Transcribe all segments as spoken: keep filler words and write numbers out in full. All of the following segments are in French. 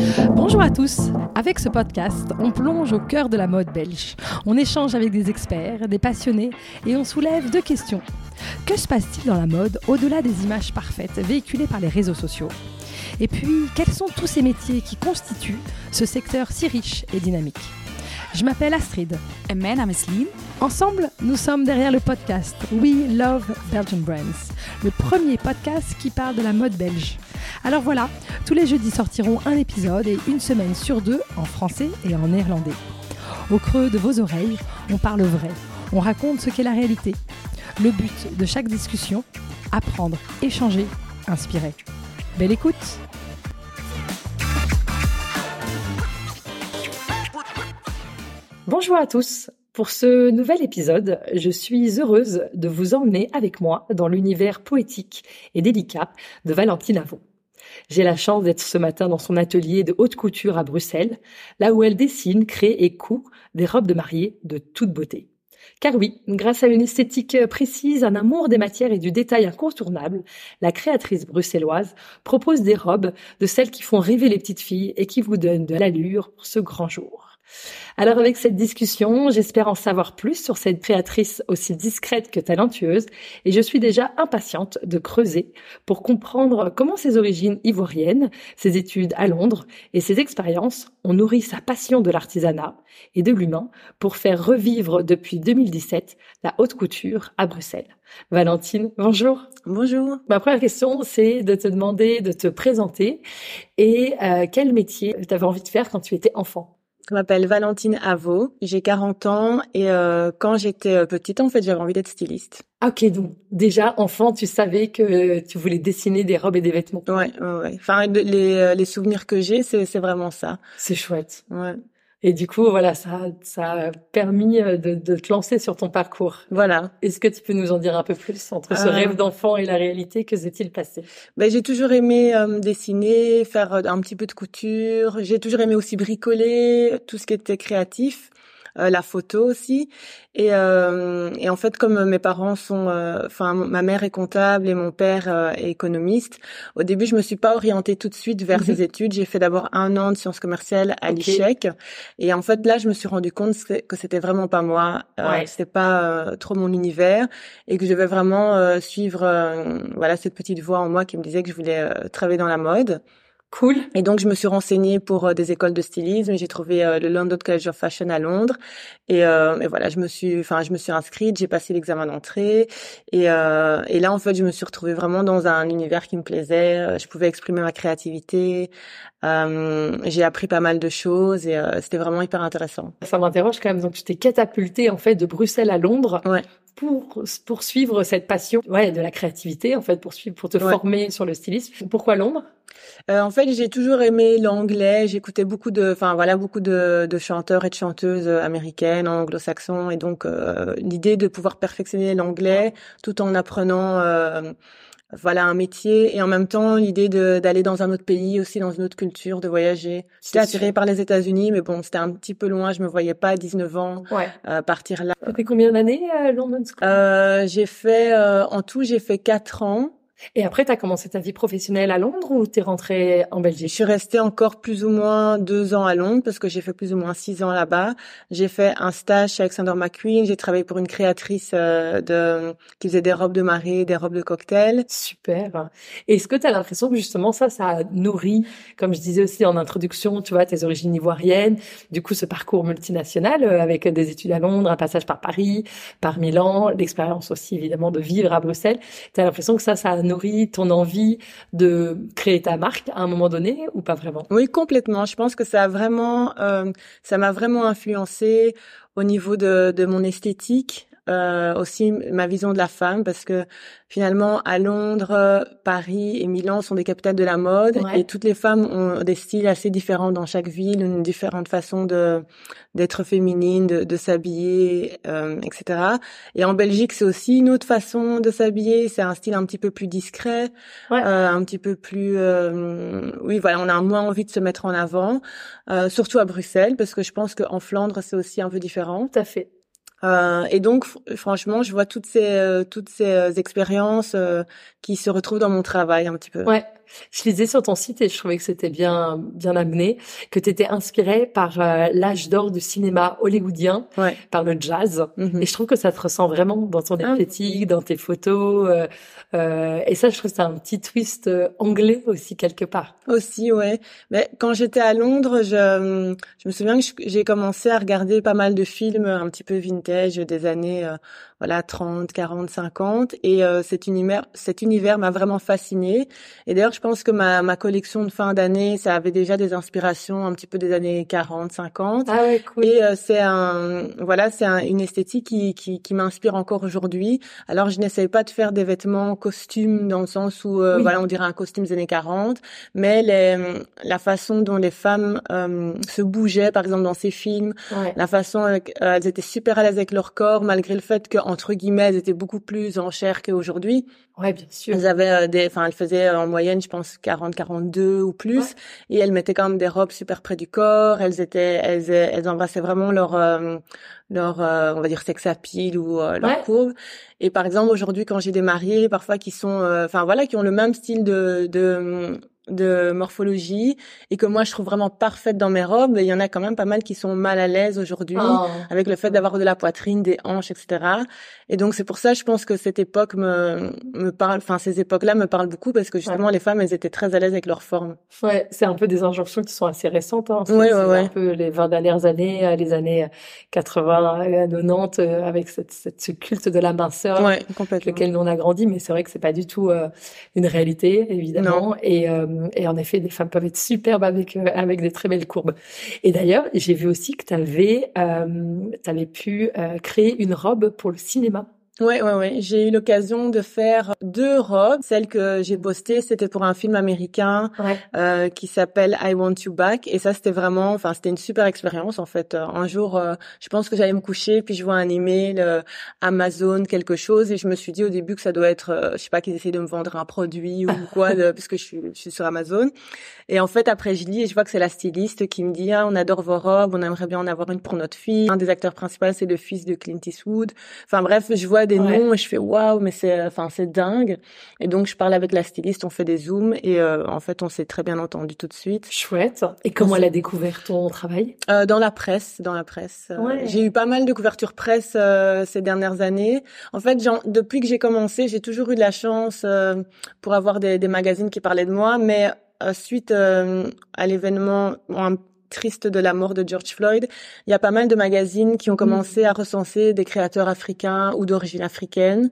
Bonjour à tous. Avec ce podcast, on plonge au cœur de la mode belge. On échange avec des experts, des passionnés et on soulève deux questions. Que se passe-t-il dans la mode au-delà des images parfaites véhiculées par les réseaux sociaux ? Et puis, quels sont tous ces métiers qui constituent ce secteur si riche et dynamique ? Je m'appelle Astrid. En mijn naam is Lien. Ensemble, nous sommes derrière le podcast We Love Belgian Brands, le premier podcast qui parle de la mode belge. Alors voilà, tous les jeudis sortiront un épisode et une semaine sur deux en français et en néerlandais. Au creux de vos oreilles, on parle vrai, on raconte ce qu'est la réalité. Le but de chaque discussion, apprendre, échanger, inspirer. Belle écoute! Bonjour à tous. Pour ce nouvel épisode, je suis heureuse de vous emmener avec moi dans l'univers poétique et délicat de Valentine Avaux. J'ai la chance d'être ce matin dans son atelier de haute couture à Bruxelles, là où elle dessine, crée et coud des robes de mariée de toute beauté. Car oui, grâce à une esthétique précise, un amour des matières et du détail incontournable, la créatrice bruxelloise propose des robes de celles qui font rêver les petites filles et qui vous donnent de l'allure pour ce grand jour. Alors avec cette discussion, j'espère en savoir plus sur cette créatrice aussi discrète que talentueuse et je suis déjà impatiente de creuser pour comprendre comment ses origines ivoiriennes, ses études à Londres et ses expériences ont nourri sa passion de l'artisanat et de l'humain pour faire revivre depuis deux mille dix-sept la haute couture à Bruxelles. Valentine, bonjour. Bonjour. Ma première question, c'est de te demander de te présenter et euh, quel métier tu avais envie de faire quand tu étais enfant ? Je m'appelle Valentine Avaux, j'ai quarante ans et euh, quand j'étais petite, en fait, j'avais envie d'être styliste. Ok, donc déjà, enfant, tu savais que tu voulais dessiner des robes et des vêtements. Ouais, ouais, ouais. Enfin, les, les souvenirs que j'ai, c'est, c'est vraiment ça. C'est chouette. Ouais. Et du coup, voilà, ça, ça a permis de, de te lancer sur ton parcours. Voilà. Est-ce que tu peux nous en dire un peu plus entre ce euh... rêve d'enfant et la réalité? Que s'est-il passé? Ben, j'ai toujours aimé euh, dessiner, faire un petit peu de couture. J'ai toujours aimé aussi bricoler, tout ce qui était créatif. Euh, la photo aussi et euh, et en fait comme mes parents sont enfin euh, ma mère est comptable et mon père euh, est économiste, au début je me suis pas orientée tout de suite vers mm-hmm. ces études. J'ai fait d'abord un an de sciences commerciales à okay. l'I C H E C et en fait là je me suis rendu compte que c'était vraiment pas moi, euh, ouais. c'était pas euh, trop mon univers et que je devais vraiment euh, suivre euh, voilà cette petite voix en moi qui me disait que je voulais euh, travailler dans la mode. Cool. Et donc, je me suis renseignée pour euh, des écoles de stylisme. J'ai trouvé euh, le London College of Fashion à Londres. Et, euh, et voilà, je me suis, enfin, je me suis inscrite. J'ai passé l'examen d'entrée. Et, euh, et là, en fait, je me suis retrouvée vraiment dans un univers qui me plaisait. Je pouvais exprimer ma créativité. Euh, j'ai appris pas mal de choses et euh, c'était vraiment hyper intéressant. Ça m'interroge quand même. Donc, tu t'es catapultée en fait de Bruxelles à Londres. Ouais. Pour poursuivre cette passion, ouais, de la créativité en fait, pour suivre, pour te ouais. former sur le stylisme. Pourquoi Londres ? Euh, en fait, j'ai toujours aimé l'anglais. J'écoutais beaucoup de, enfin voilà, beaucoup de, de chanteurs et de chanteuses américaines, anglo-saxons, et donc euh, l'idée de pouvoir perfectionner l'anglais tout en apprenant. Euh, Voilà un métier et en même temps l'idée de d'aller dans un autre pays aussi, dans une autre culture, de voyager. J'étais attirée par les États-Unis, mais bon, c'était un petit peu loin. Je me voyais pas à dix-neuf ans ouais. euh, partir là. Ça fait combien d'années à London School ? euh, J'ai fait euh, en tout, j'ai fait quatre ans. Et après, tu as commencé ta vie professionnelle à Londres ou t'es rentrée en Belgique ? Je suis restée encore plus ou moins deux ans à Londres parce que j'ai fait plus ou moins six ans là-bas. J'ai fait un stage chez Alexander McQueen. J'ai travaillé pour une créatrice euh, de qui faisait des robes de mariée, des robes de cocktail. Super. Et est-ce que tu as l'impression que justement ça, ça nourrit, comme je disais aussi en introduction, tu vois, tes origines ivoiriennes, du coup ce parcours multinational euh, avec des études à Londres, un passage par Paris, par Milan, l'expérience aussi évidemment de vivre à Bruxelles. Tu as l'impression que ça, ça a nourri ton envie de créer ta marque à un moment donné ou pas vraiment ? Oui, complètement. Je pense que ça a vraiment, euh, ça m'a vraiment influencé au niveau de, de mon esthétique. Euh, aussi ma vision de la femme, parce que finalement à Londres, Paris et Milan sont des capitales de la mode, ouais. et toutes les femmes ont des styles assez différents dans chaque ville, une différente façon de d'être féminine, de, de s'habiller, euh, et cetera. Et en Belgique, c'est aussi une autre façon de s'habiller. C'est un style un petit peu plus discret, ouais. euh, un petit peu plus, euh, oui, voilà, on a moins envie de se mettre en avant, euh, surtout à Bruxelles, parce que je pense qu'en Flandre, c'est aussi un peu différent. Tout à fait. Euh, et donc, f- franchement, je vois toutes ces euh, toutes ces euh, expériences euh, qui se retrouvent dans mon travail un petit peu. Ouais. je lisais sur ton site et je trouvais que c'était bien bien amené, que tu étais inspirée par euh, l'âge d'or du cinéma hollywoodien, Ouais. par le jazz. Mm-hmm. Et je trouve que ça te ressent vraiment dans ton esthétique, ah. dans tes photos. Euh, euh, et ça, je trouve que c'est un petit twist euh, anglais aussi quelque part. Aussi, ouais. Mais quand j'étais à Londres, je, je me souviens que j'ai commencé à regarder pas mal de films un petit peu vintage des années euh, voilà trente, quarante, cinquante et euh, cet univers cet univers m'a vraiment fascinée. Et d'ailleurs, je pense que ma ma collection de fin d'année, ça avait déjà des inspirations un petit peu des années quarante, cinquante. Ah ouais, cool. Et euh, c'est un voilà, c'est un, une esthétique qui qui qui m'inspire encore aujourd'hui. Alors, je n'essaye pas de faire des vêtements costumes dans le sens où euh, oui. voilà, on dirait un costume des années quarante, mais les la façon dont les femmes euh, se bougeaient par exemple dans ces films, ouais. la façon euh, elles étaient super à l'aise avec leur corps malgré le fait que entre guillemets elles étaient beaucoup plus en chair qu'aujourd'hui. Ouais, bien sûr. Elles avaient euh, des enfin elles faisaient en moyenne je pense quarante quarante-deux ou plus ouais. et elles mettaient quand même des robes super près du corps, elles étaient elles elles embrassaient vraiment leur euh, leur euh, on va dire sex appeal ou euh, leur ouais. courbe. Et par exemple aujourd'hui quand j'ai des mariés parfois qui sont enfin euh, voilà qui ont le même style de de de morphologie et que moi je trouve vraiment parfaite dans mes robes, il y en a quand même pas mal qui sont mal à l'aise aujourd'hui oh. avec le fait d'avoir de la poitrine, des hanches, et cetera. Et donc c'est pour ça je pense que cette époque me me parle, enfin ces époques-là me parlent beaucoup parce que justement ouais. les femmes elles étaient très à l'aise avec leur forme. Ouais, c'est un peu des injonctions qui sont assez récentes. Hein. Ouais, c'est ouais, ouais. un peu les vingt dernières années, les années quatre-vingts, quatre-vingt-dix, avec cette, cette ce culte de la minceur, ouais, avec lequel nous on a grandi, mais c'est vrai que c'est pas du tout euh, une réalité évidemment. Non. Et euh, Et en effet, des femmes peuvent être superbes avec euh, avec des très belles courbes. Et d'ailleurs, j'ai vu aussi que tu avais euh, t'avais pu euh, créer une robe pour le cinéma. Ouais, ouais, ouais. J'ai eu l'occasion de faire deux robes. Celle que j'ai postée, c'était pour un film américain ouais. euh, qui s'appelle I Want You Back. Et ça, c'était vraiment, enfin, c'était une super expérience en fait. Un jour, euh, je pense que j'allais me coucher, puis je vois un email euh, Amazon quelque chose, et je me suis dit au début que ça doit être, euh, je sais pas, qu'ils essaient de me vendre un produit ou quoi, de, parce que je suis, je suis sur Amazon. Et en fait, après, je lis et je vois que c'est la styliste qui me dit ah, on adore vos robes, on aimerait bien en avoir une pour notre fille. Un des acteurs principaux, c'est le fils de Clint Eastwood. Enfin bref, je vois des ouais. noms et je fais waouh, mais c'est enfin c'est dingue. Et donc je parle avec la styliste, on fait des zooms et euh, en fait on s'est très bien entendu tout de suite. Chouette. Et comment elle a découvert ton travail? euh, Dans la presse, dans la presse. Ouais. J'ai eu pas mal de couvertures presse euh, ces dernières années. En fait, genre, depuis que j'ai commencé, j'ai toujours eu de la chance euh, pour avoir des, des magazines qui parlaient de moi, mais euh, suite euh, à l'événement bon, triste de la mort de George Floyd, il y a pas mal de magazines qui ont commencé mmh. à recenser des créateurs africains ou d'origine africaine.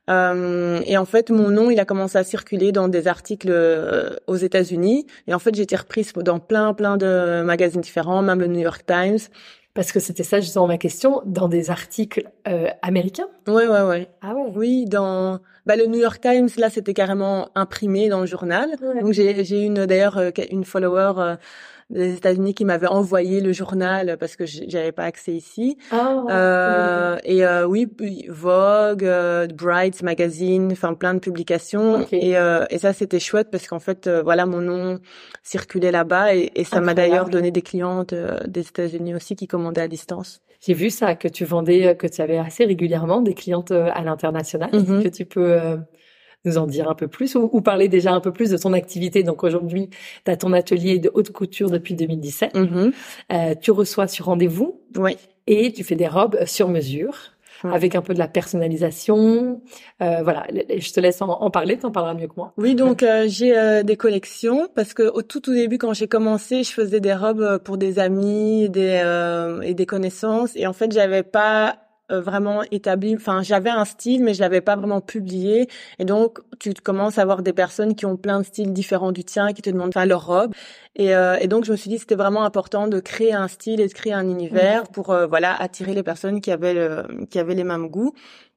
Euh, et en fait, mon nom, il a commencé à circuler dans des articles euh, aux États-Unis. Et en fait, j'ai été reprise dans plein, plein de magazines différents, même le New York Times. Parce que c'était ça justement ma question, dans des articles euh, américains? Ouais, ouais, ouais. Ah ouais. Oui, dans bah le New York Times, là, c'était carrément imprimé dans le journal. Ouais. Donc j'ai j'ai une d'ailleurs une follower euh, des États-Unis qui m'avait envoyé le journal parce que j'avais pas accès ici. Ah, euh, oui. Et euh, oui, Vogue, euh, Bright Magazine, enfin plein de publications. Okay. Et euh, et ça c'était chouette parce qu'en fait euh, voilà mon nom circulait là-bas et, et ça Incroyable. M'a d'ailleurs donné des clientes euh, des États-Unis aussi qui commandaient à distance. J'ai vu ça, que tu vendais, que tu avais assez régulièrement des clientes à l'international. Mm-hmm. Que tu peux euh, nous en dire un peu plus ou, ou parler déjà un peu plus de ton activité. Donc aujourd'hui, tu as ton atelier de haute couture depuis deux mille dix-sept. Mm-hmm. Euh, tu reçois sur rendez-vous. Oui. Et tu fais des robes sur mesure. Ouais. Avec un peu de la personnalisation, euh, voilà. Je te laisse en, en parler, t'en parleras mieux que moi. Oui, donc euh, j'ai euh, des collections parce que au tout au début, quand j'ai commencé, je faisais des robes pour des amis, des euh, et des connaissances, et en fait, j'avais pas vraiment établi, enfin j'avais un style mais je l'avais pas vraiment publié, et donc tu commences à avoir des personnes qui ont plein de styles différents du tien qui te demandent enfin leur robe, et, euh, et donc je me suis dit que c'était vraiment important de créer un style et de créer un univers pour euh, voilà attirer les personnes qui avaient le, qui avaient les mêmes goûts.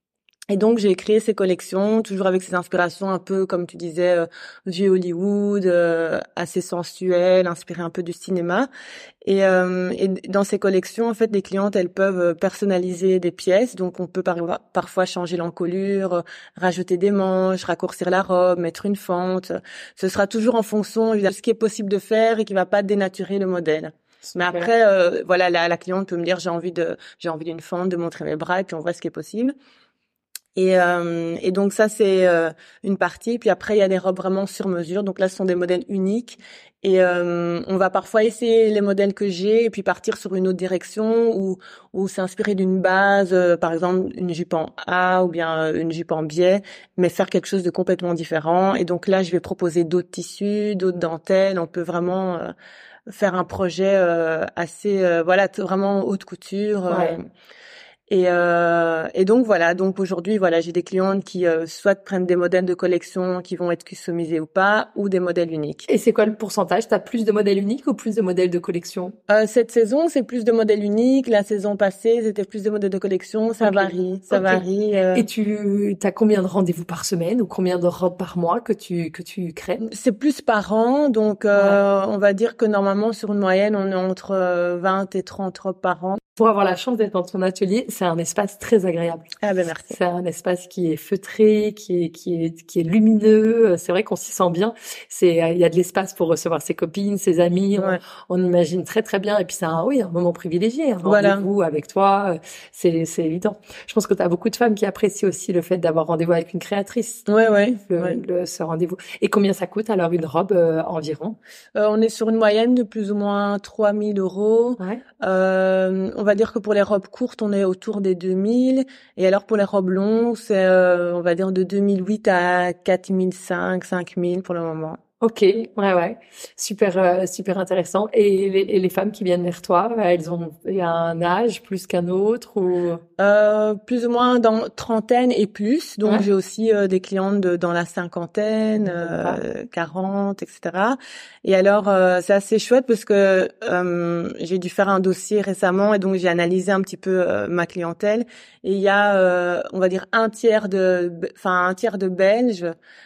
Et donc j'ai créé ces collections, toujours avec ces inspirations un peu, comme tu disais, euh, du Hollywood, euh, assez sensuelles, inspirées un peu du cinéma. Et, euh, et dans ces collections, en fait, les clientes, elles peuvent personnaliser des pièces. Donc on peut par- parfois changer l'encolure, rajouter des manches, raccourcir la robe, mettre une fente. Ce sera toujours en fonction de ce qui est possible de faire et qui va pas dénaturer le modèle. Super. Mais après, euh, voilà, la, la cliente peut me dire j'ai envie de, j'ai envie d'une fente, de montrer mes bras, et puis on voit ce qui est possible. Et, euh, et donc ça c'est euh, une partie. Puis après il y a des robes vraiment sur mesure. Donc là ce sont des modèles uniques. Et euh, on va parfois essayer les modèles que j'ai et puis partir sur une autre direction ou ou s'inspirer d'une base, euh, par exemple une jupe en A ou bien euh, une jupe en biais, mais faire quelque chose de complètement différent. Et donc là je vais proposer d'autres tissus, d'autres dentelles. On peut vraiment euh, faire un projet euh, assez euh, voilà t- vraiment haute couture. Euh, Ouais. Et, euh, et donc voilà, donc aujourd'hui voilà, j'ai des clientes qui euh, soit prennent des modèles de collection qui vont être customisés ou pas, ou des modèles uniques. Et c'est quoi le pourcentage? T'as plus de modèles uniques ou plus de modèles de collection? Euh, cette saison, c'est plus de modèles uniques. La saison passée, c'était plus de modèles de collection. Ça Ok. varie, ça Ok. varie. euh. Et tu as combien de rendez-vous par semaine ou combien de robes par mois que tu que tu crées? C'est plus par an, donc euh, on va dire que normalement sur une moyenne, on est entre euh, vingt et trente robes par an. Pour avoir la chance d'être dans ton atelier, c'est un espace très agréable. Ah ben merci. C'est un espace qui est feutré, qui est qui est qui est lumineux. C'est vrai qu'on s'y sent bien. C'est il y a de l'espace pour recevoir ses copines, ses amis. Ouais. On, on imagine très très bien. Et puis c'est un oui un moment privilégié. Un Voilà. rendez-vous avec toi, c'est c'est évident. Je pense que tu as beaucoup de femmes qui apprécient aussi le fait d'avoir rendez-vous avec une créatrice. Ouais ouais. Le, ouais. le- ce rendez-vous. Et combien ça coûte alors une robe euh, environ? Euh, on est sur une moyenne de plus ou moins trois mille euros. Ouais. Euh, on va dire que pour les robes courtes, on est autour des deux mille. Et alors pour les robes longues, c'est, euh, on va dire, de deux mille huit à quatre mille cinq, cinq mille pour le moment. Ok, ouais, ouais, super, euh, super intéressant. Et les, et les femmes qui viennent vers toi, elles ont, il y a un âge plus qu'un autre ou Euh, plus ou moins dans trentaine et plus. Donc Ouais. j'ai aussi euh, des clientes de, dans la cinquantaine, D'accord. euh, quarante, et cetera. Et alors euh, c'est assez chouette parce que euh, j'ai dû faire un dossier récemment et donc j'ai analysé un petit peu euh, ma clientèle. Et il y a, euh, on va dire, un tiers de, enfin un tiers de Belges.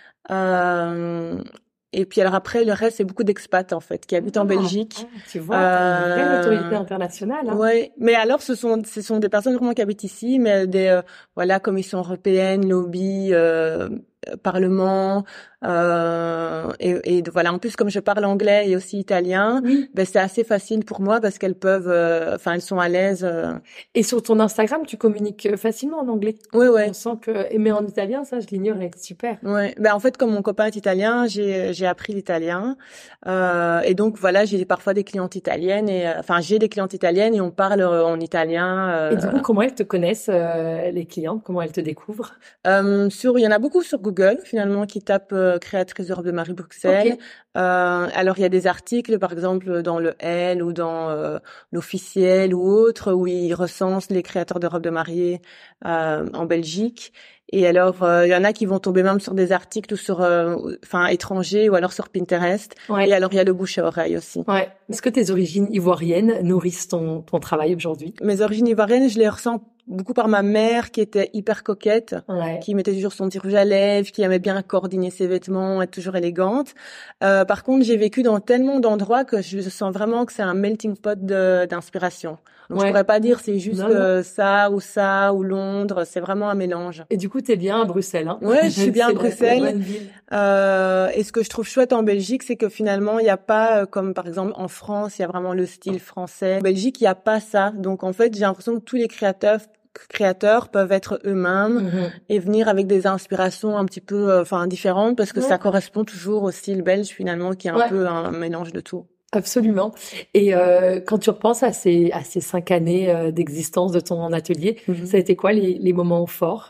Euh, et puis alors après le reste c'est beaucoup d'expats en fait qui habitent en Ah, Belgique. ah, tu vois, t'as une vraie Euh, notoriété internationale, hein. Ouais, mais alors ce sont ce sont des personnes vraiment qui habitent ici, mais des euh, voilà commission européenne, lobby, euh, euh, parlement, euh, et, et voilà. En plus, comme je parle anglais et aussi italien, Oui. ben c'est assez facile pour moi parce qu'elles peuvent, euh, enfin elles sont à l'aise. euh. Et sur ton Instagram, tu communiques facilement en anglais. Ouais, ouais. On sent que, et mais en italien, ça, je l'ignorais. Super. Ouais, ben en fait comme mon copain est italien, j'ai j'ai appris l'italien euh, et donc voilà j'ai parfois des clientes italiennes et euh, enfin j'ai des clientes italiennes et on parle euh, en italien. Euh, Et du coup, comment elles te connaissent, euh, les clientes? Comment elles te découvrent? euh, sur il y en a beaucoup sur Google finalement qui tapent euh, créatrice de robe de Marie Bruxelles. Ok. Euh, alors il y a des articles par exemple dans le Elle ou dans euh, l'Officiel ou autre où ils recensent les créateurs de robes de mariée euh, en Belgique. Et alors, euh, il y en a qui vont tomber même sur des articles ou sur, euh, enfin, étrangers ou alors sur Pinterest. Ouais. Et alors, il y a le bouche à oreille aussi. Ouais. Est-ce que tes origines ivoiriennes nourrissent ton, ton travail aujourd'hui? Mes origines ivoiriennes, je les ressens beaucoup par ma mère qui était hyper coquette, Ouais. qui mettait toujours son petit rouge à lèvres, qui aimait bien coordonner ses vêtements, être toujours élégante. Euh, par contre, j'ai vécu dans tellement d'endroits que je sens vraiment que c'est un melting pot de, d'inspiration. Donc, Ouais. je pourrais pas dire c'est juste Non, non. euh, ça ou ça ou Londres. C'est vraiment un mélange. Et du coup, t'es bien à Bruxelles, hein? Ouais, je suis bien à C'est la- Bruxelles. la bonne ville. Euh, et ce que je trouve chouette en Belgique, c'est que finalement, il n'y a pas, euh, comme par exemple en France, il y a vraiment le style français. En Belgique, il n'y a pas ça. Donc en fait, j'ai l'impression que tous les créateurs créateurs peuvent être eux-mêmes Mhm. et venir avec des inspirations un petit peu euh, enfin différentes parce que Ouais. ça correspond toujours au style belge finalement qui est un Ouais. peu un mélange de tout. Absolument. Et euh, quand tu repenses à ces à ces cinq années euh, d'existence de ton atelier, Mhm. ça a été quoi les, les moments forts?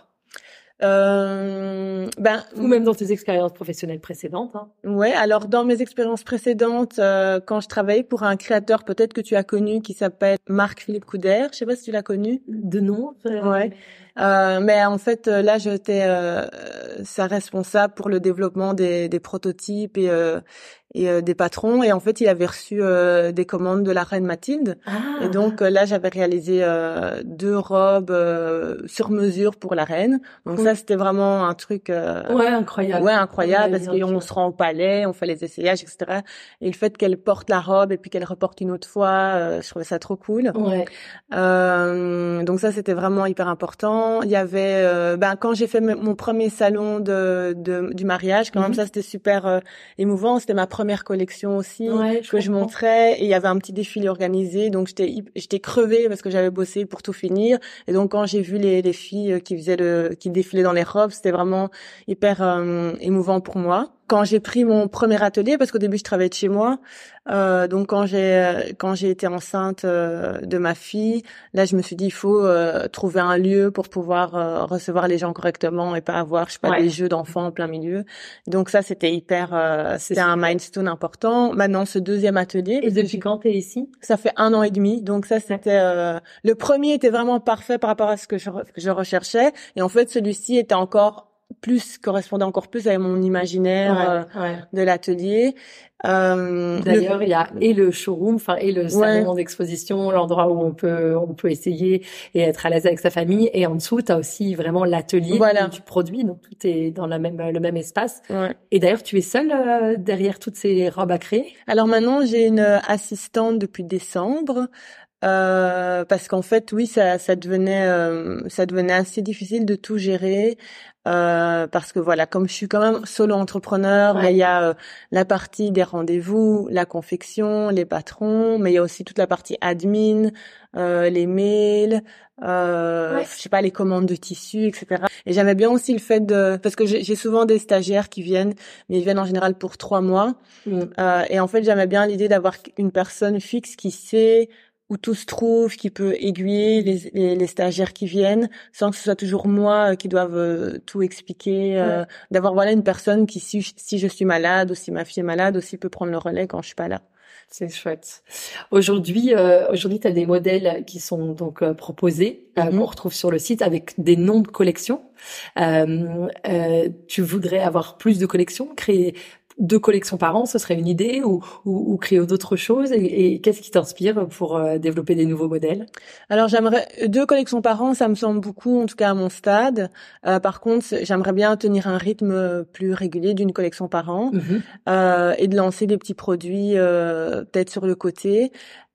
Euh, ben Ou même dans tes expériences professionnelles précédentes, hein? ouais, alors dans mes expériences précédentes, euh, quand je travaillais pour un créateur peut-être que tu as connu qui s'appelle Marc-Philippe Couder, je sais pas si tu l'as connu. De nom? euh, Ouais. Euh, mais en fait, euh, là, j'étais euh, sa responsable pour le développement des, des prototypes et, euh, et euh, des patrons. Et en fait, il avait reçu euh, des commandes de la reine Mathilde. Ah. Et donc euh, là, j'avais réalisé euh, deux robes euh, sur mesure pour la reine. Donc Cool. ça, c'était vraiment un truc euh, Ouais, incroyable. ouais incroyable Ouais, parce bien qu'on sûr. se rend au palais, on fait les essayages, et cetera. Et le fait qu'elle porte la robe et puis qu'elle reporte une autre fois, euh, je trouvais ça trop cool. Ouais. Euh, donc ça c'était vraiment hyper important. Il y avait euh, ben quand j'ai fait m- mon premier salon de, de du mariage quand Mhm. même ça c'était super euh, émouvant. C'était ma première premières collections aussi Ouais, je que je comprends. montrais, et il y avait un petit défilé organisé, donc j'étais hyp- j'étais crevée parce que j'avais bossé pour tout finir. Et donc quand j'ai vu les, les filles qui faisaient le qui défilaient dans les robes, c'était vraiment hyper euh, émouvant pour moi. Quand j'ai pris mon premier atelier, parce qu'au début je travaillais de chez moi, euh, donc quand j'ai quand j'ai été enceinte euh, de ma fille, là je me suis dit il faut euh, trouver un lieu pour pouvoir euh, recevoir les gens correctement et pas avoir je sais pas Ouais. des jeux d'enfants en plein milieu. Donc ça c'était hyper euh, C'est c'était un super. milestone important. Maintenant ce deuxième atelier, Et parce que depuis j'ai- quand t'es ici? ça fait un an et demi, donc ça c'était euh, le premier était vraiment parfait par rapport à ce que je, re- que je recherchais, et en fait celui-ci était encore plus correspondait encore plus à mon imaginaire euh, Ouais, ouais. de l'atelier. Euh, le D'ailleurs, il y a et le showroom, enfin, et le ouais salon d'exposition, l'endroit où on peut, on peut essayer et être à l'aise avec sa famille. Et en dessous, tu as aussi vraiment l'atelier voilà où tu produis, donc tout est dans la même, le même espace. ouais. Et d'ailleurs, tu es seule euh, derrière toutes ces robes à créer? Alors maintenant j'ai une assistante depuis décembre. Euh, parce qu'en fait, oui, ça, ça devenait, euh, ça devenait assez difficile de tout gérer, euh, parce que voilà, comme je suis quand même solo entrepreneur, mais Ouais. il y a euh, la partie des rendez-vous, la confection, les patrons, mais il y a aussi toute la partie admin, euh, les mails, euh, Ouais. je sais pas, les commandes de tissus, et cetera. Et j'aimais bien aussi le fait de, parce que j'ai j'ai souvent des stagiaires qui viennent, mais ils viennent en général pour trois mois. Mm. Euh, et en fait, j'aimais bien l'idée d'avoir une personne fixe qui sait où tout se trouve, qui peut aiguiller les, les, les stagiaires qui viennent, sans que ce soit toujours moi euh, qui doive euh, tout expliquer. Euh, Ouais. d'avoir voilà une personne qui, si, si je suis malade ou si ma fille est malade, aussi peut prendre le relais quand je suis pas là. C'est chouette. Aujourd'hui, euh, aujourd'hui, tu as des modèles qui sont donc euh, proposés, euh, Mhm. qu'on retrouve sur le site avec des noms de collections. Euh, euh, tu voudrais avoir plus de collections, créer deux collections par an, ce serait une idée, ou, ou, ou créer d'autres choses. Et, et qu'est-ce qui t'inspire pour euh, développer des nouveaux modèles? Alors j'aimerais deux collections par an, ça me semble beaucoup, en tout cas à mon stade. Euh, par contre, j'aimerais bien tenir un rythme plus régulier d'une collection par an, Mhm. euh, et de lancer des petits produits euh, peut-être sur le côté.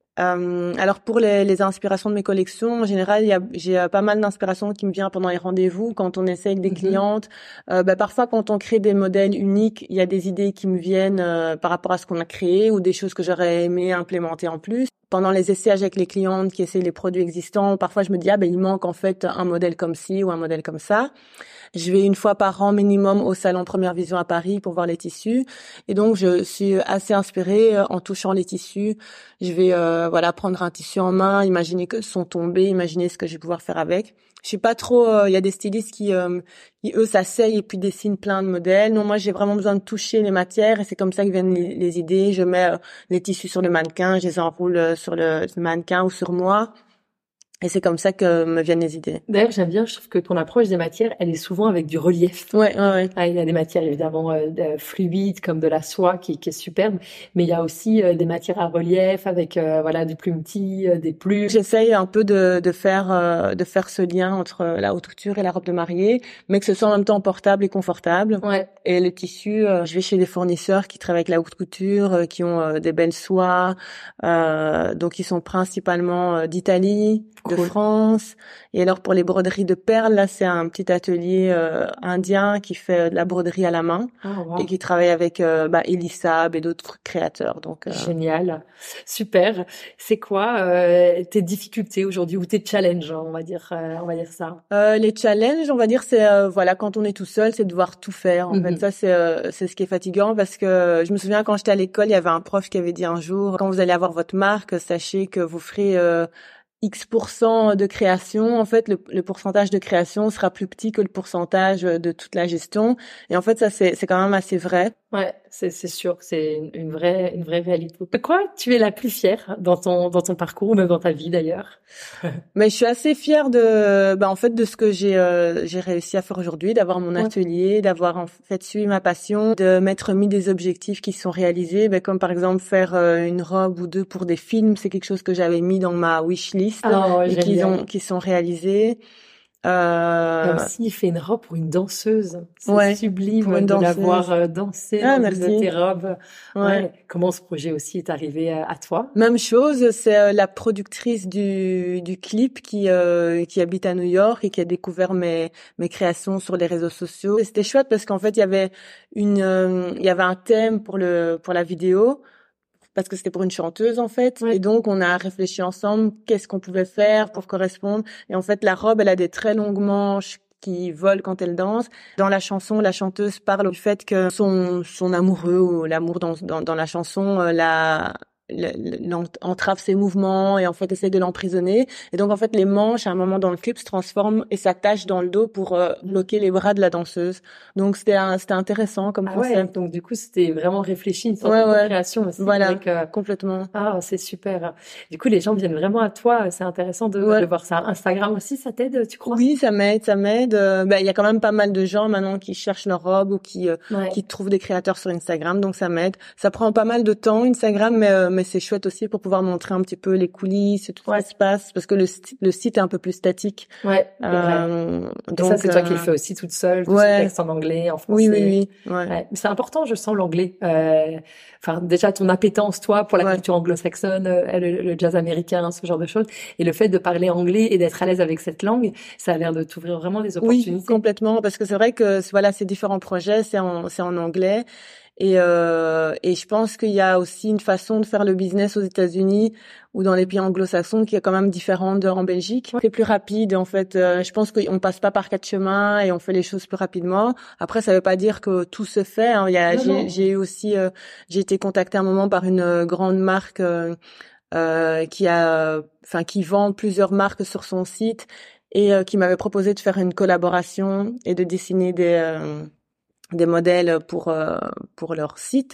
Euh, alors pour les, les inspirations de mes collections, en général, il y a, j'ai euh, pas mal d'inspiration qui me vient pendant les rendez-vous, quand on essaie avec des Mhm. clientes. Euh, bah, parfois, quand on crée des modèles uniques, il y a des idées qui me viennent euh, par rapport à ce qu'on a créé ou des choses que j'aurais aimé implémenter en plus. Pendant les essayages avec les clientes qui essaient les produits existants, parfois je me dis ah ben il manque en fait un modèle comme ci ou un modèle comme ça. Je vais une fois par an minimum au salon Première Vision à Paris pour voir les tissus. Et donc, je suis assez inspirée euh, en touchant les tissus. Je vais euh, voilà prendre un tissu en main, imaginer que sont tombés, imaginer ce que je vais pouvoir faire avec. Je suis pas trop... euh, Il y a des stylistes qui, euh, qui eux, s'asseyent et puis dessinent plein de modèles. Non, moi, j'ai vraiment besoin de toucher les matières et c'est comme ça que viennent les, les idées. Je mets euh, les tissus sur le mannequin, je les enroule euh, sur le mannequin ou sur moi. Et c'est comme ça que me viennent les idées. D'ailleurs, j'aime bien, je trouve que ton approche des matières, elle est souvent avec du relief. Ouais, ouais, ouais. Ah, il y a des matières évidemment euh, de- fluides comme de la soie qui, qui est superbe, mais il y a aussi euh, des matières à relief avec euh, voilà du plumetis, euh, des plumes. J'essaye un peu de, de faire euh, de faire ce lien entre la haute couture et la robe de mariée, mais que ce soit en même temps portable et confortable. Ouais. Et le tissu, euh, je vais chez des fournisseurs qui travaillent avec la haute couture, euh, qui ont euh, des belles soies, euh, donc ils sont principalement euh, d'Italie, de Cool. France. Et alors pour les broderies de perles, là c'est un petit atelier euh, indien qui fait de la broderie à la main Ah, wow. et qui travaille avec euh, bah, Elisab et d'autres créateurs. Donc euh, Génial, super. C'est quoi euh, tes difficultés aujourd'hui ou tes challenges, on va dire, euh, on va dire ça. Euh, les challenges, on va dire, c'est euh, voilà, quand on est tout seul, c'est de devoir tout faire. En Mhm. fait, ça c'est euh, c'est ce qui est fatigant parce que je me souviens quand j'étais à l'école, il y avait un prof qui avait dit un jour, quand vous allez avoir votre marque, sachez que vous ferez euh, X pour cent de création. En fait, le, le pourcentage de création sera plus petit que le pourcentage de toute la gestion. Et en fait, ça c'est c'est quand même assez vrai. Ouais, c'est c'est sûr, c'est une, une vraie une vraie réalité. De quoi tu es la plus fière dans ton dans ton parcours ou même dans ta vie d'ailleurs? Mais je suis assez fière de, bah, en fait, de ce que j'ai, euh, j'ai réussi à faire aujourd'hui, d'avoir mon Ouais. atelier, d'avoir en fait suivi ma passion, de m'être mis des objectifs qui sont réalisés, ben, comme par exemple faire euh, une robe ou deux pour des films, c'est quelque chose que j'avais mis dans ma wish list Oh, et qui génial. ont, qui sont réalisés. Euh... Comme s'il fait une robe pour une danseuse. C'est ouais, sublime pour une de la danseuse. voir euh, danser Ah, dans merci. une de tes robes. Ouais. Ouais. Comment ce projet aussi est arrivé à, à toi? Même chose, c'est euh, la productrice du, du clip qui, euh, qui habite à New York et qui a découvert mes, mes créations sur les réseaux sociaux. Et c'était chouette parce qu'en fait, il y avait une, euh, il y avait un thème pour le, pour la vidéo. Parce que c'était pour une chanteuse en fait, Ouais. et donc on a réfléchi ensemble qu'est-ce qu'on pouvait faire pour correspondre. Et en fait, la robe, elle a des très longues manches qui volent quand elle danse. Dans la chanson, la chanteuse parle du fait que son son amoureux ou l'amour dans dans, dans la chanson euh, la entrave ses mouvements et en fait essaie de l'emprisonner. Et donc en fait les manches à un moment dans le clip se transforment et s'attachent dans le dos pour euh, bloquer les bras de la danseuse. Donc c'était un, c'était intéressant comme ah concept. Ouais, donc du coup c'était vraiment réfléchi, une sorte ouais, de ouais. création aussi. Voilà, avec, euh... complètement. Ah c'est super. Du coup les gens viennent vraiment à toi, c'est intéressant de, ouais. de voir ça. Instagram aussi, ça t'aide, tu crois? Oui, ça m'aide, ça m'aide. Euh, ben il y a quand même pas mal de gens maintenant qui cherchent leur robe ou qui euh, ouais. qui trouvent des créateurs sur Instagram, donc ça m'aide. Ça prend pas mal de temps Instagram, mais euh, mais c'est chouette aussi pour pouvoir montrer un petit peu les coulisses et tout ouais. ce qui se passe, parce que le le site est un peu plus statique. Ouais. Euh, et donc ça c'est euh... toi qui le fais aussi toute seule, tout ouais. ce texte en anglais, en français. Oui, oui, oui. Ouais. ouais. Mais c'est important, je sens l'anglais. Euh, enfin déjà ton appétence toi pour la ouais. culture anglo-saxonne, euh, le, le jazz américain, ce genre de choses, et le fait de parler anglais et d'être à l'aise avec cette langue, ça a l'air de t'ouvrir vraiment des opportunités. Oui, complètement, parce que c'est vrai que voilà, ces différents projets, c'est en c'est en anglais. Et, euh, et je pense qu'il y a aussi une façon de faire le business aux États-Unis ou dans les pays anglo-saxons qui est quand même différente d'en Belgique. C'est plus rapide, en fait. Euh, je pense qu'on passe pas par quatre chemins et on fait les choses plus rapidement. Après, ça veut pas dire que tout se fait. Hein. Il y a, j'ai, j'ai eu aussi, euh, j'ai été contactée un moment par une euh, grande marque euh, euh, qui a, enfin, qui vend plusieurs marques sur son site et euh, qui m'avait proposé de faire une collaboration et de dessiner des euh, des modèles pour euh, pour leur site.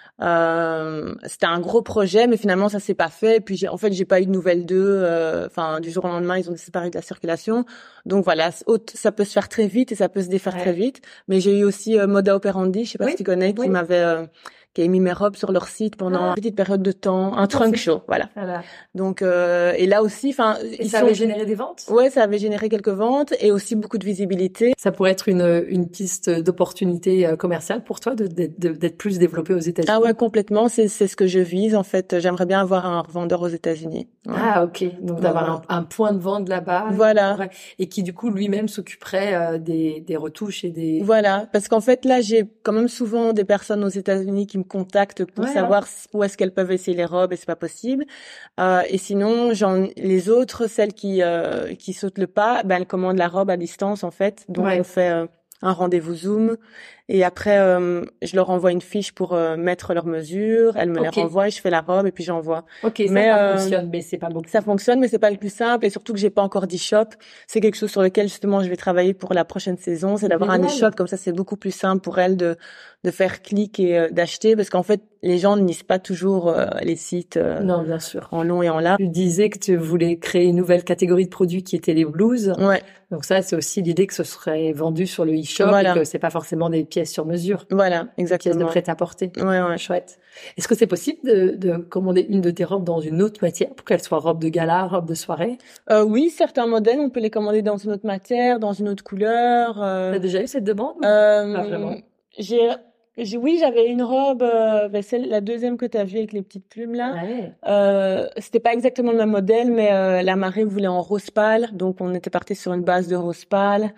Euh, c'était un gros projet, mais finalement ça s'est pas fait. Et puis j'ai, en fait, j'ai pas eu de nouvelles d'eux. Enfin, euh, du jour au lendemain, ils ont disparu de la circulation. Donc voilà, ça peut se faire très vite et ça peut se défaire ouais. très vite. Mais j'ai eu aussi euh, Moda Operandi, je sais pas oui. si tu connais, qui oui. m'avait euh, qui a mis mes robes sur leur site pendant ah. une petite période de temps, un trunk show, voilà. voilà. Donc euh, et là aussi, enfin, et ça sont... avait généré des ventes. Ouais, ça avait généré quelques ventes et aussi beaucoup de visibilité. Ça pourrait être une une piste d'opportunité commerciale pour toi de, de, de d'être plus développé aux États-Unis. Ah ouais, complètement. C'est c'est ce que je vise en fait. J'aimerais bien avoir un revendeur aux États-Unis. Ouais. Ah ok, donc d'avoir ouais. un, un point de vente là-bas. Voilà. Et qui du coup lui-même s'occuperait euh, des des retouches et des. Voilà, parce qu'en fait là j'ai quand même souvent des personnes aux États-Unis qui me contactent pour ouais, savoir ouais. où est-ce qu'elles peuvent essayer les robes et c'est pas possible. Euh, et sinon, j'en les autres, celles qui euh, qui sautent le pas, ben elles commandent la robe à distance en fait. Donc ouais. on fait euh, un rendez-vous Zoom et après euh, je leur envoie une fiche pour euh, mettre leurs mesures, elles me okay. les renvoient et je fais la robe et puis j'envoie. Ok, ça, mais, ça euh, fonctionne, mais c'est pas beaucoup. Ça fonctionne, mais c'est pas le plus simple et surtout que j'ai pas encore d'e-shop. C'est quelque chose sur lequel justement je vais travailler pour la prochaine saison, c'est d'avoir un e-shop comme ça, c'est beaucoup plus simple pour elles de de faire clic et euh, d'acheter parce qu'en fait les gens ne lisent pas toujours euh, les sites euh, non bien sûr en long et en large. Tu disais que tu voulais créer une nouvelle catégorie de produits qui étaient les blues. Ouais. Donc ça c'est aussi l'idée que ce serait vendu sur le e-shop voilà. et que c'est pas forcément des pièces sur mesure. Voilà, exactement. Des pièces de prêt-à-porter. Ouais ouais. Chouette. Est-ce que c'est possible de, de commander une de tes robes dans une autre matière pour qu'elle soit robe de gala, robe de soirée? Euh, oui, certains modèles on peut les commander dans une autre matière, dans une autre couleur. Euh... T'as déjà eu cette demande? Euh... Pas vraiment. J'ai J'ai, oui, j'avais une robe, euh, ben celle, la deuxième que tu as vue avec les petites plumes là. Ouais. Euh, c'était pas exactement le même modèle, mais euh, la marée voulait en rose pâle, donc on était parti sur une base de rose pâle,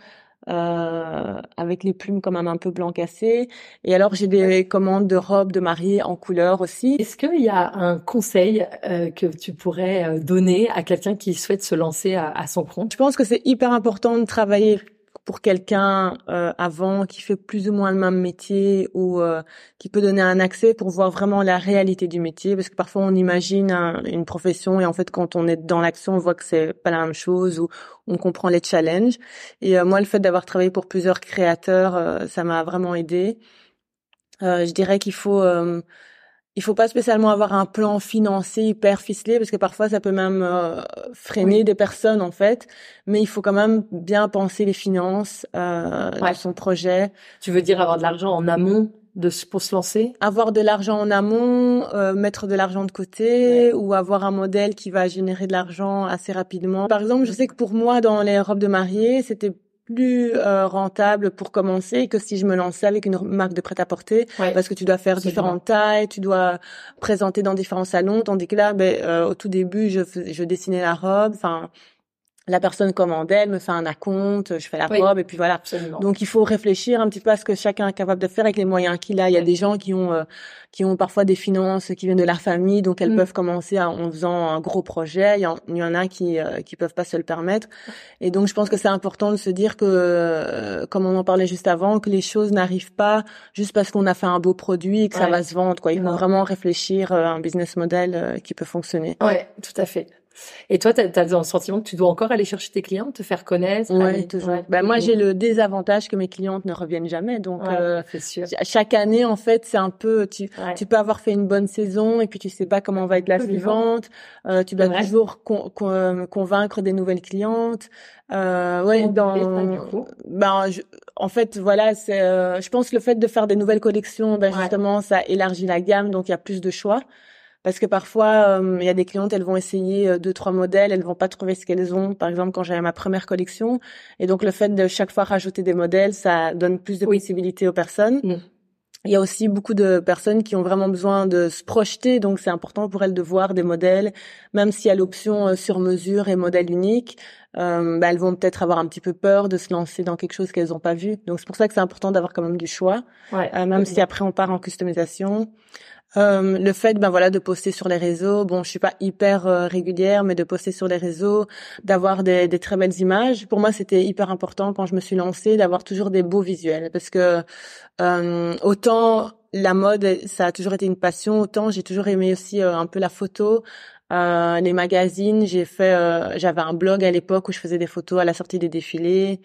euh, avec les plumes quand même un peu blanc cassé. Et alors j'ai des commandes de robes de mariée en couleur aussi. Est-ce qu'il y a un conseil euh, que tu pourrais donner à quelqu'un qui souhaite se lancer à, à son compte? Je pense que c'est hyper important de travailler pour quelqu'un euh, avant qui fait plus ou moins le même métier ou euh, qui peut donner un accès pour voir vraiment la réalité du métier, parce que parfois on imagine un, une profession et en fait quand on est dans l'action on voit que c'est pas la même chose ou on comprend les challenges. Et euh, moi le fait d'avoir travaillé pour plusieurs créateurs euh, ça m'a vraiment aidé. Euh, je dirais qu'il faut euh, il faut pas spécialement avoir un plan financier hyper ficelé parce que parfois ça peut même euh, freiner oui. des personnes en fait, mais il faut quand même bien penser les finances euh, ouais. de son projet. Tu veux dire avoir de l'argent en amont de pour se lancer? Avoir de l'argent en amont, euh, mettre de l'argent de côté, ouais. ou avoir un modèle qui va générer de l'argent assez rapidement. Par exemple, je sais que pour moi, dans les robes de mariée, c'était plus euh, rentable pour commencer que si je me lançais avec une marque de prêt-à-porter, ouais. parce que tu dois faire Absolument. différentes tailles, tu dois présenter dans différents salons, tandis que là, ben, euh, au tout début, je, je dessinais la robe, enfin... La personne commande, elle me fait un acompte, je fais la oui, robe et puis voilà. Absolument. Donc il faut réfléchir un petit peu à ce que chacun est capable de faire avec les moyens qu'il a. Il y a oui. des gens qui ont euh, qui ont parfois des finances qui viennent de leur famille, donc elles mm. peuvent commencer à, en faisant un gros projet. Il y en, il y en a qui euh, qui peuvent pas se le permettre. Et donc je pense que c'est important de se dire que, euh, comme on en parlait juste avant, que les choses n'arrivent pas juste parce qu'on a fait un beau produit et que ouais. ça va se vendre. Quoi, il faut non. vraiment réfléchir à un business model euh, qui peut fonctionner. Ouais, tout à fait. Et toi, t'as, t'as le sentiment que tu dois encore aller chercher tes clients, te faire connaître? Oui, aller... toujours. Ouais. Ben, moi, j'ai le désavantage que mes clientes ne reviennent jamais. Donc, ouais, euh, c'est sûr. chaque année, en fait, c'est un peu, tu, ouais. tu peux avoir fait une bonne saison et puis tu sais pas comment va être la suivante. Euh, tu dois ouais. toujours con, con, convaincre des nouvelles clientes. Euh, ouais, dans, ça, du coup. ben, je, en fait, voilà, c'est, euh, je pense que le fait de faire des nouvelles collections, ben, ouais. justement, ça élargit la gamme, donc il y a plus de choix. Parce que parfois, il euh, y a des clientes, elles vont essayer euh, deux, trois modèles, elles vont pas trouver ce qu'elles ont. Par exemple, quand j'avais ma première collection. Et donc, le fait de chaque fois rajouter des modèles, ça donne plus de oui. possibilités aux personnes. Mm. Il y a aussi beaucoup de personnes qui ont vraiment besoin de se projeter. Donc, c'est important pour elles de voir des modèles. Même s'il y a l'option euh, sur mesure et modèle unique, euh, bah, elles vont peut-être avoir un petit peu peur de se lancer dans quelque chose qu'elles n'ont pas vu. Donc, c'est pour ça que c'est important d'avoir quand même du choix. Ouais, euh, même si bien. Après, on part en customisation. Euh, le fait ben voilà de poster sur les réseaux, bon je suis pas hyper euh, régulière, mais de poster sur les réseaux, d'avoir des, des très belles images, pour moi c'était hyper important quand je me suis lancée, d'avoir toujours des beaux visuels, parce que euh, autant la mode ça a toujours été une passion, autant j'ai toujours aimé aussi euh, un peu la photo. Euh, les magazines, j'ai fait euh, j'avais un blog à l'époque où je faisais des photos à la sortie des défilés.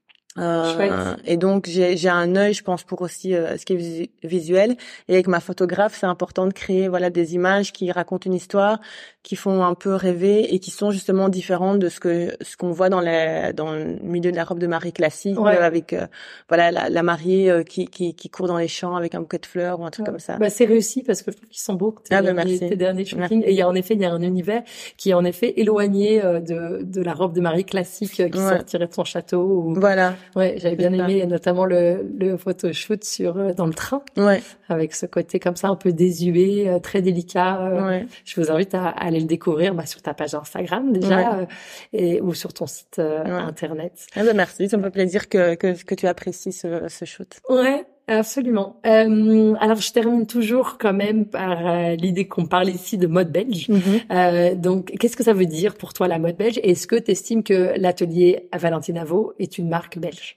Euh, et donc j'ai j'ai un œil, je pense, pour aussi euh, ce qui est visu- visuel. Et avec ma photographe, c'est important de créer voilà des images qui racontent une histoire, qui font un peu rêver et qui sont justement différentes de ce que ce qu'on voit dans les dans le milieu de la robe de mariée classique, ouais. euh, avec euh, voilà la, la mariée euh, qui qui qui court dans les champs avec un bouquet de fleurs ou un truc ouais. comme ça. Bah c'est réussi parce que je trouve qu'ils sont beaux. Tes, ah ben derniers, merci. tes derniers shootings. Et il y a en effet il y a un univers qui est en effet éloigné euh, de de la robe de mariée classique euh, qui ouais. sortirait de son château. Ou... Voilà. Ouais, j'avais bien aimé. Et notamment le, le photoshoot sur, dans le train. Ouais. Avec ce côté comme ça, un peu désuet, euh, très délicat. Euh, ouais. Je vous invite à, à aller le découvrir, bah, sur ta page Instagram, déjà, ouais. euh, et, ou sur ton site, euh, ouais. internet. Ah ben merci. Ça me fait plaisir que, que, que tu apprécies ce, ce shoot. Ouais. Absolument. Euh, alors, je termine toujours quand même par euh, l'idée qu'on parle ici de mode belge. Mm-hmm. Euh, donc, qu'est-ce que ça veut dire pour toi la mode belge? Est-ce que tu estimes que l'atelier Valentine Avaux est une marque belge?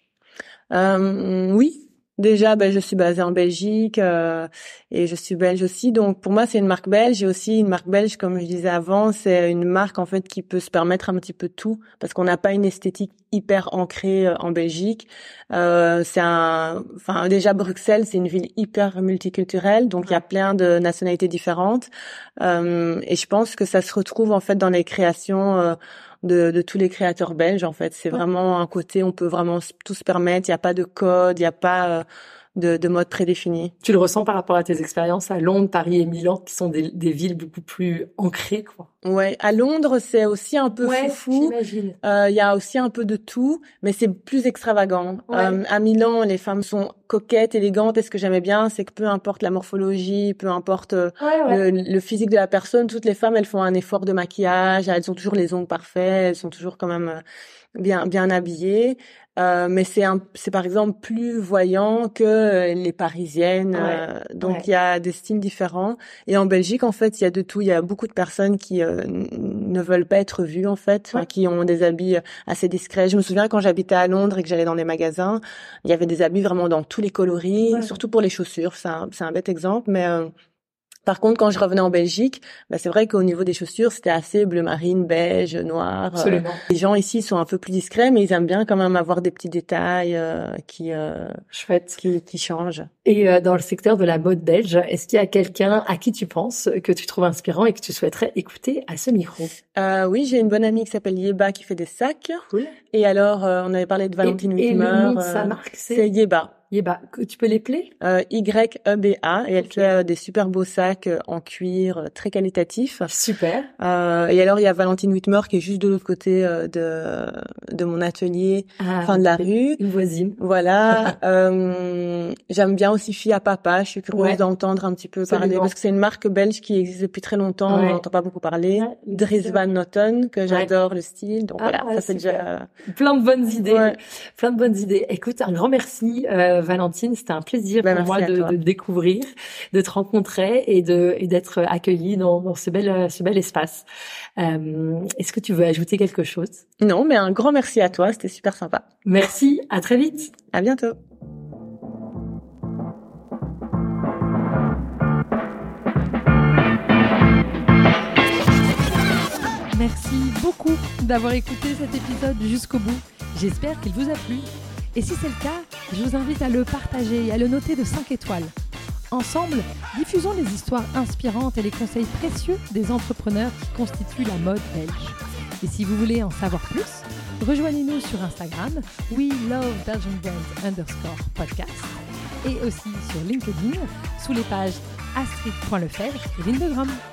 Euh, oui, déjà, ben je suis basée en Belgique euh, et je suis belge aussi. Donc pour moi, c'est une marque belge. Et aussi une marque belge, comme je disais avant, c'est une marque en fait qui peut se permettre un petit peu tout parce qu'on n'a pas une esthétique hyper ancrée euh, en Belgique. Euh, c'est un, enfin déjà Bruxelles, c'est une ville hyper multiculturelle, donc il y a plein de nationalités différentes. Euh, et je pense que ça se retrouve en fait dans les créations. Euh, De, de tous les créateurs belges en fait, c'est ouais. vraiment un côté on peut vraiment tout se permettre, il y a pas de code, il y a pas euh, de, de mode prédéfini. Tu le ressens par rapport à tes expériences à Londres, Paris et Milan, qui sont des, des villes beaucoup plus ancrées, quoi. Ouais, à Londres c'est aussi un peu ouais, foufou. J'imagine. Euh, il y a aussi un peu de tout, mais c'est plus extravagant. Ouais. Euh, à Milan, les femmes sont coquettes, élégantes. Et ce que j'aimais bien, c'est que peu importe la morphologie, peu importe ouais, ouais. Le, le physique de la personne, toutes les femmes elles font un effort de maquillage. Elles ont toujours les ongles parfaits, elles sont toujours quand même bien bien habillées. Euh, mais c'est un, c'est par exemple plus voyant que les parisiennes. Ouais, euh, donc il ouais. y a des styles différents. Et en Belgique, en fait, il y a de tout. Il y a beaucoup de personnes qui euh, ne veulent pas être vues, en fait, ouais. qui ont des habits assez discrets. Je me souviens quand j'habitais à Londres et que j'allais dans des magasins, il y avait des habits vraiment dans tous les coloris, ouais. surtout pour les chaussures. C'est un, c'est un bête exemple, mais euh, par contre, quand je revenais en Belgique, bah c'est vrai qu'au niveau des chaussures, c'était assez bleu marine, beige, noir. Absolument. Euh, les gens ici sont un peu plus discrets, mais ils aiment bien quand même avoir des petits détails euh, qui, euh, Chouette. qui qui changent. Et euh, dans le secteur de la mode belge, est-ce qu'il y a quelqu'un à qui tu penses que tu trouves inspirant et que tu souhaiterais écouter à ce micro? euh, Oui, j'ai une bonne amie qui s'appelle Yeba qui fait des sacs. Cool. Et alors, euh, on avait parlé de Valentine Witmer. Et le nom de sa marque, c'est, c'est Yeba. Yeba, que- tu peux les plaire? Euh, Y E B A, et elle Ok. fait euh, des super beaux sacs euh, en cuir euh, très qualitatifs. Super. Euh, et alors il y a Valentine Whitmore qui est juste de l'autre côté euh, de de mon atelier, Ah, fin de la c'est rue. une voisine. Voilà. Euh, j'aime bien aussi Fille à Papa. Je suis curieuse Ouais, d'entendre un petit peu parler absolument. parce que c'est une marque belge qui existe depuis très longtemps. On Ouais. n'entend pas beaucoup parler. Ouais, Dries c'est Van Noten, que Ouais. j'adore le style. Donc Ah, voilà, ça c'est super. déjà. Plein de bonnes idées. Ouais. Plein de bonnes idées. Écoute, un grand merci, euh, Valentine. C'était un plaisir Ben, pour moi merci à de, toi. de te découvrir, de te rencontrer et de et d'être accueillie dans, dans ce bel ce bel espace. Euh, est-ce que tu veux ajouter quelque chose? Non, mais un grand merci à toi. C'était super sympa. Merci. À très vite. À bientôt. Merci beaucoup d'avoir écouté cet épisode jusqu'au bout. J'espère qu'il vous a plu. Et si c'est le cas, je vous invite à le partager et à le noter de cinq étoiles. Ensemble, diffusons les histoires inspirantes et les conseils précieux des entrepreneurs qui constituent la mode belge. Et si vous voulez en savoir plus, rejoignez-nous sur Instagram, we love belgian brands underscore podcast, et aussi sur LinkedIn, sous les pages astrid point lefebvre et Lindegram.